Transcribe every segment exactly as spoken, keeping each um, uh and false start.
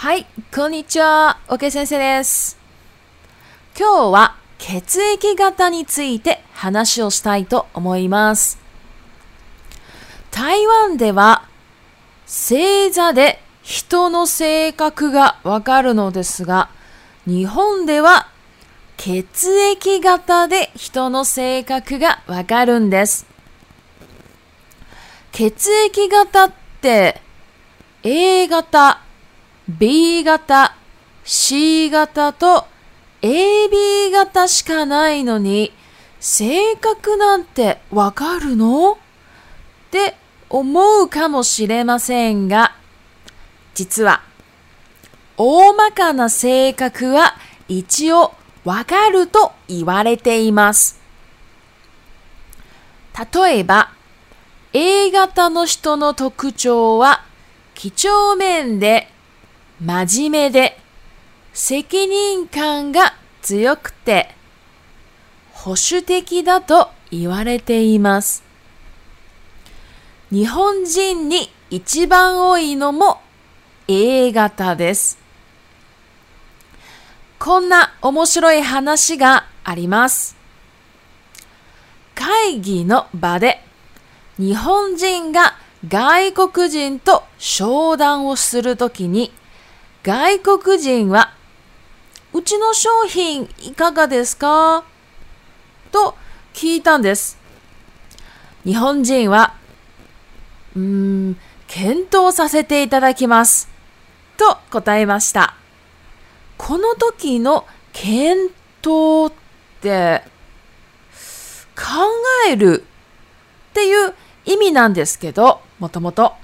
はい、こんにちは。OK 先生です。今日は血液型について話をしたいと思います。台湾では星座で人の性格がわかるのですが、日本では血液型で人の性格がわかるんです。血液型って A 型、B 型、C 型と エービー 型しかないのに、性格なんてわかるの？って思うかもしれませんが、実は大まかな性格は一応わかると言われています。例えば、A 型の人の特徴は、几帳面で真面目で責任感が強くて保守的だと言われています。日本人に一番多いのも A 型です。こんな面白い話があります。会議の場で日本人が外国人と商談をするときに、外国人は、うちの商品いかがですか？と聞いたんです。日本人は、うーん、検討させていただきます。と答えました。この時の検討って、考えるっていう意味なんですけど、もともと。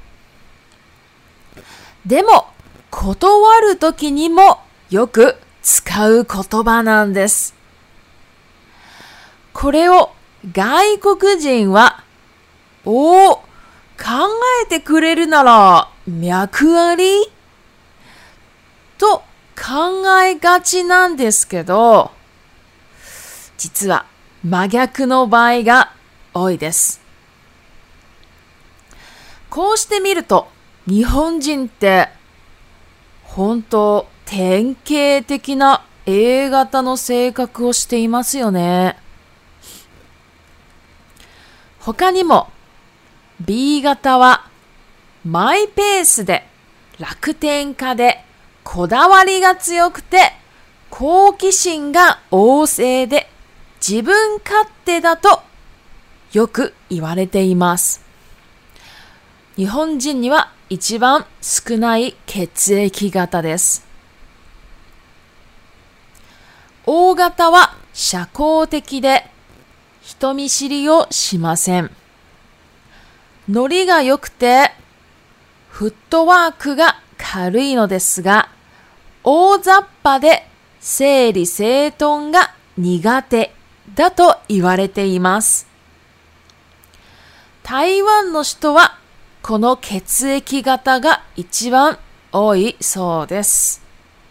でも、断るときにもよく使う言葉なんです。これを外国人は、おー、考えてくれるなら脈あり？と考えがちなんですけど、実は真逆の場合が多いです。こうしてみると、日本人って本当典型的な A 型の性格をしていますよね。他にも B 型はマイペースで楽天家でこだわりが強くて好奇心が旺盛で自分勝手だとよく言われています。日本人には一番少ない血液型です。O 型は社交的で人見知りをしません。ノリが良くてフットワークが軽いのですが、大雑把で整理整頓が苦手だと言われています。台湾の人はこの血液型が一番多いそうです。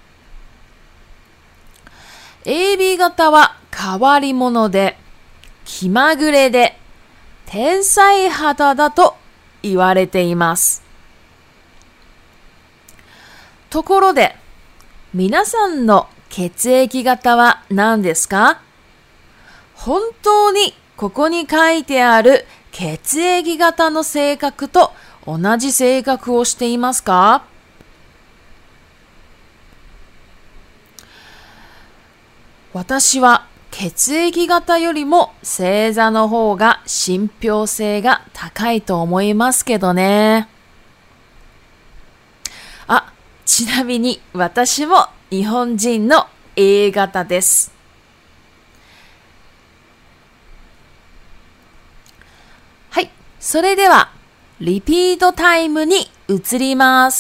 エービー 型は変わり者で気まぐれで天才肌だと言われています。ところで、皆さんの血液型は何ですか？本当にここに書いてある血液型の性格と同じ性格をしていますか？私は血液型よりも星座の方が信憑性が高いと思いますけどね。あ、ちなみに私も日本人の A 型です。はい、それではリピートタイムに移ります。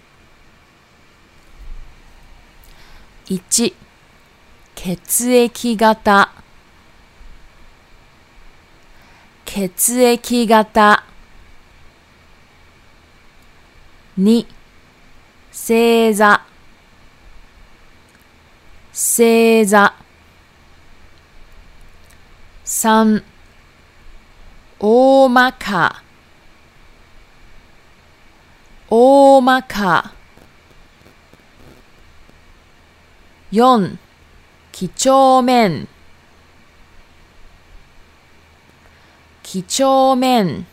いち、血液型、血液型。に、星座、星座。さん、大まか、大まか。 よん、几帳面几帳面。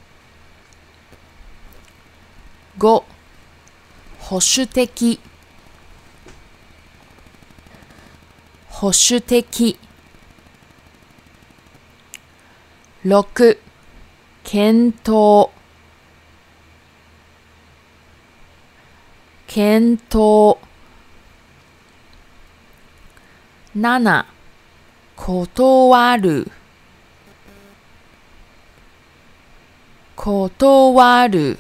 ご、保守的保守的。ろく、検討検討。なな、断る断る。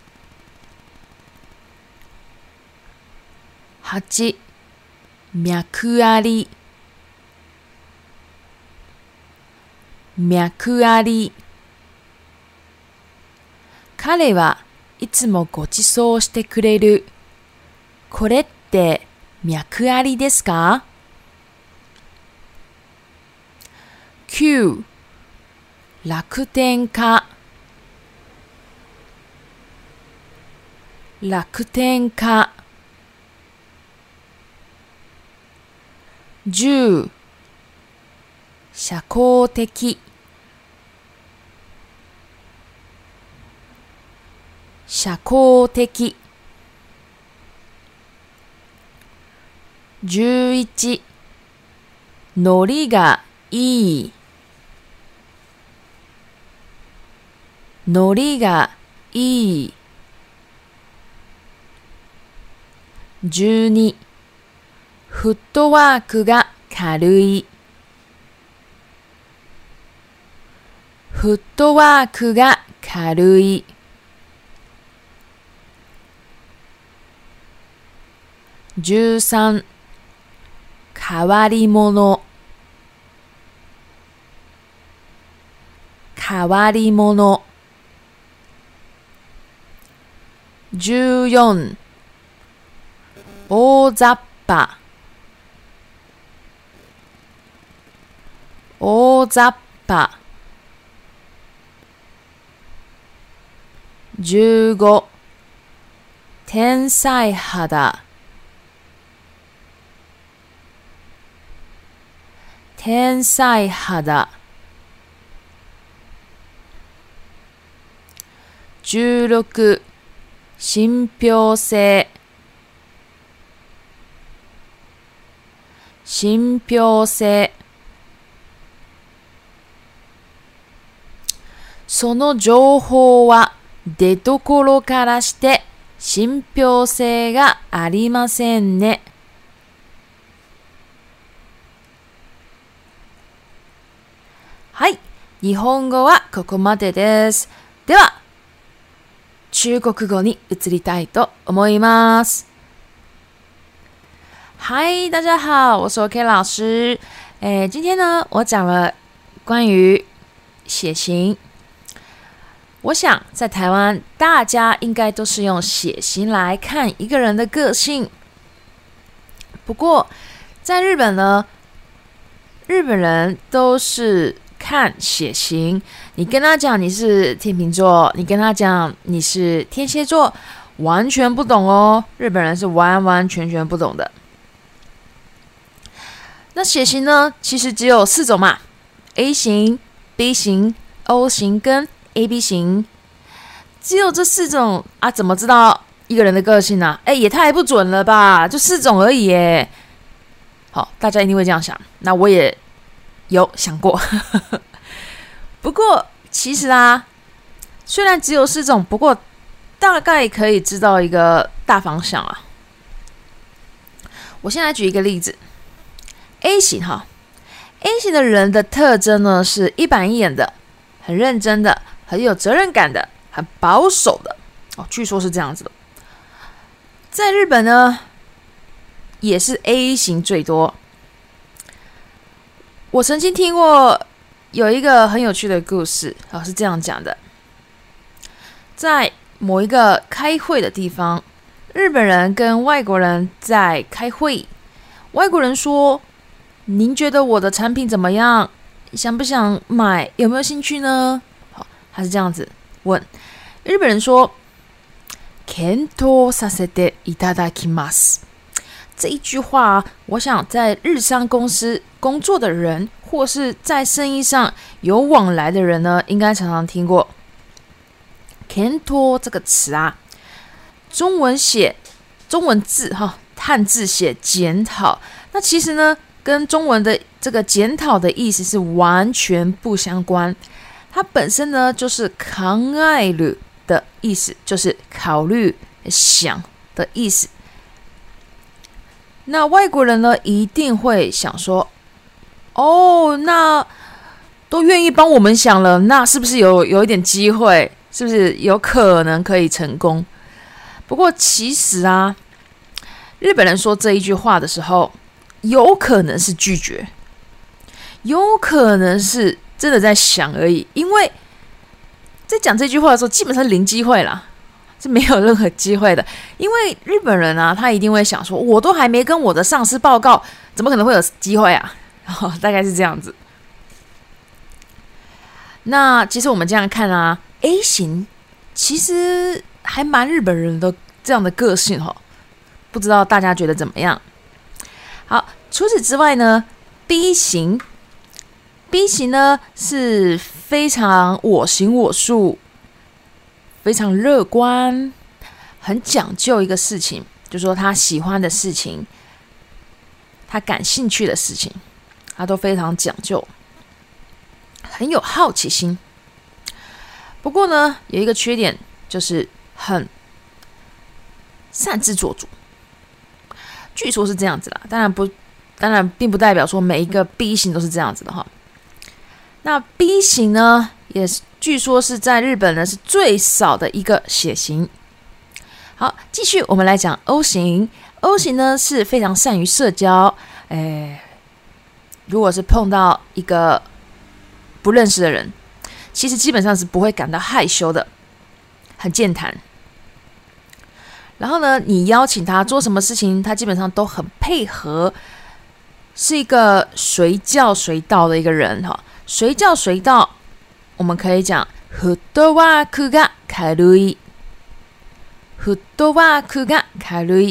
はち、脈あり脈あり。彼はいつもご馳走してくれる。これって脈ありですか？きゅう、楽天家楽天家。じゅう、社交的社交的。じゅういち、ノリがいいノリがいい。じゅうに、フットワークが軽いフットワークが軽い。じゅうさん、変わり者変わり者。じゅうよん、大雑把大雑把。じゅうご、天才肌天才肌。じゅうろく、信憑性信憑性。その情報は出所からして信憑性がありませんね。はい、日本語はここまでです。では、中国語に移りたいと思います。嗨，大家好，我是 OK 老师。诶，今天呢，我讲了关于血型。我想在台湾，大家应该都是用血型来看一个人的个性。不过，在日本呢，日本人都是看血型。你跟他讲你是天秤座，你跟他讲你是天蝎座，完全不懂哦。日本人是完完全全不懂的。那血型呢，其实只有四种嘛 ：A 型、B 型、O 型跟 A B 型。只有这四种啊，怎么知道一个人的个性呢？哎，也太不准了吧！就四种而已耶。好，大家一定会这样想。那我也有想过。不过其实啊，虽然只有四种，不过大概可以知道一个大方向啊。我先来举一个例子 ，A 型哈 ，A 型的人的特征呢是一板一眼的，很认真的，很有责任感的，很保守的哦，据说是这样子的。在日本呢，也是 A 型最多。我曾经听过有一个很有趣的故事，哦，是这样讲的：在某一个开会的地方，日本人跟外国人在开会。外国人说：“您觉得我的产品怎么样？想不想买？有没有兴趣呢？”好，他是这样子问。日本人说：“検討させていただきます。” 这一句话啊，我想在日商公司工作的人，或是在生意上有往来的人呢，应该常常听过。検討这个词啊，中文写中文字哈，汉字写检讨，那其实呢，跟中文的这个检讨的意思是完全不相关。它本身呢，就是考える的意思，就是考虑、想的意思。那外国人呢，一定会想说，哦，那都愿意帮我们想了，那是不是有有一点机会？是不是有可能可以成功？不过其实啊，日本人说这一句话的时候，有可能是拒绝，有可能是真的在想而已。因为在讲这句话的时候，基本上零机会啦，是没有任何机会的。因为日本人啊，他一定会想说，我都还没跟我的上司报告，怎么可能会有机会啊？哦，大概是这样子。那其实我们这样看啊。A 型其实还蛮日本人的这样的个性哦，不知道大家觉得怎么样？好，除此之外呢 ，B 型 ，B 型呢是非常我行我素，非常乐观，很讲究一个事情，就是说他喜欢的事情，他感兴趣的事情，他都非常讲究，很有好奇心。不过呢，有一个缺点，就是很擅自做主。据说是这样子啦，当然不，当然并不代表说每一个 B 型都是这样子的哈。那 B 型呢，也是据说是在日本呢是最少的一个血型。好，继续我们来讲 O 型。O 型呢是非常善于社交，哎，如果是碰到一个不认识的人。其实基本上是不会感到害羞的，很健谈。然后呢，你邀请他做什么事情，他基本上都很配合，是一个随叫随到的一个人哈。随叫随到，我们可以讲フットワークが軽い，フットワークが軽い。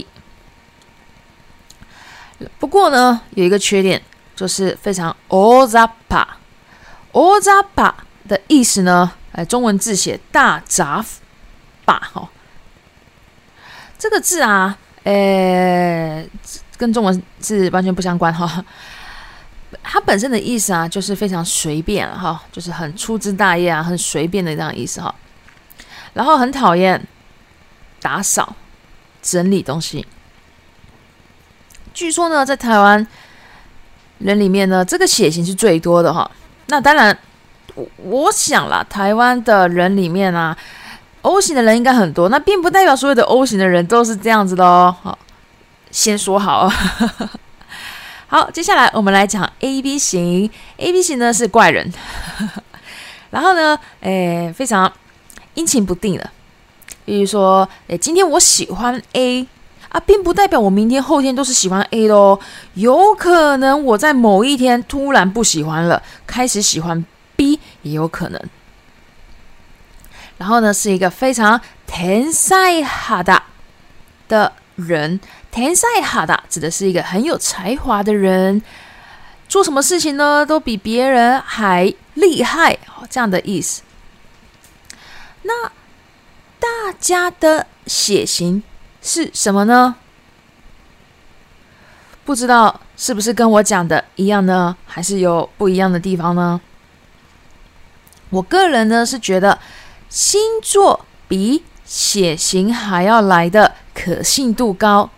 不过呢，有一个缺点，就是非常大雑把，大雑把。的意思呢？呃，中文字写大杂把哈，这个字啊，呃，跟中文字完全不相关哈。它本身的意思啊，就是非常随便哈，就是很粗枝大叶啊，很随便的这样意思哈。然后很讨厌打扫、整理东西。据说呢，在台湾人里面呢，这个血型是最多的哈。那当然。我想啦，台湾的人里面啊 ，O 型的人应该很多，那并不代表所有的 O 型的人都是这样子的哦。好，先说好。好，接下来我们来讲 A B 型。A B 型呢是怪人，然后呢，诶，非常阴晴不定的。比如说，诶，今天我喜欢 A 啊，并不代表我明天后天都是喜欢 A 的哦。有可能我在某一天突然不喜欢了，开始喜欢 B 也有可能。然后呢，是一个非常天才肌的人。天才肌指的是一个很有才华的人，做什么事情呢都比别人还厉害，这样的意思。那大家的血型是什么呢？不知道是不是跟我讲的一样呢，还是有不一样的地方呢？我个人呢是觉得星座比血型还要来的可信度高。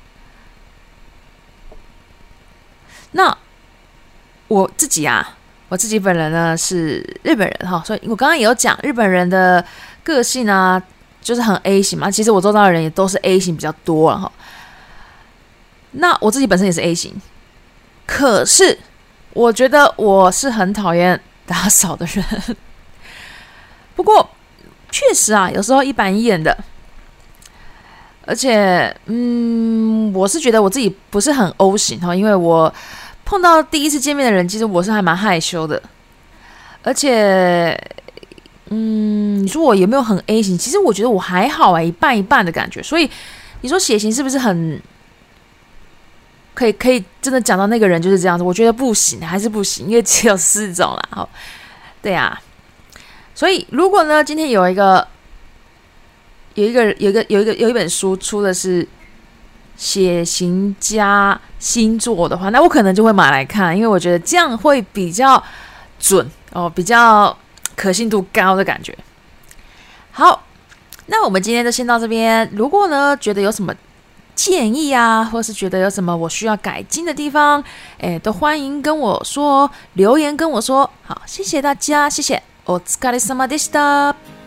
那我自己啊，我自己本人呢是日本人哈，所以我刚刚也有讲日本人的个性啊，就是很 A 型嘛。其实我周遭的人也都是 A 型比较多了哈。那我自己本身也是 A 型，可是我觉得我是很讨厌打扫的人。不过确实啊，有时候一板一眼的，而且嗯，我是觉得我自己不是很 O 型哈，因为我碰到第一次见面的人，其实我是还蛮害羞的，而且嗯，你说我有没有很 A 型？其实我觉得我还好哎，一半一半的感觉。所以你说血型是不是很可以可以真的讲到那个人就是这样子，我觉得不行，还是不行，因为只有四种啦。好，对啊，所以如果呢，今天有一个有一个有一个有一个有一本书出的是血型加星座的话，那我可能就会买来看，因为我觉得这样会比较准哦，比较可信度高的感觉。好，那我们今天就先到这边。如果呢觉得有什么建议啊，或是觉得有什么我需要改进的地方，哎，都欢迎跟我说，留言跟我说。好，谢谢大家，谢谢。お疲れ様でした。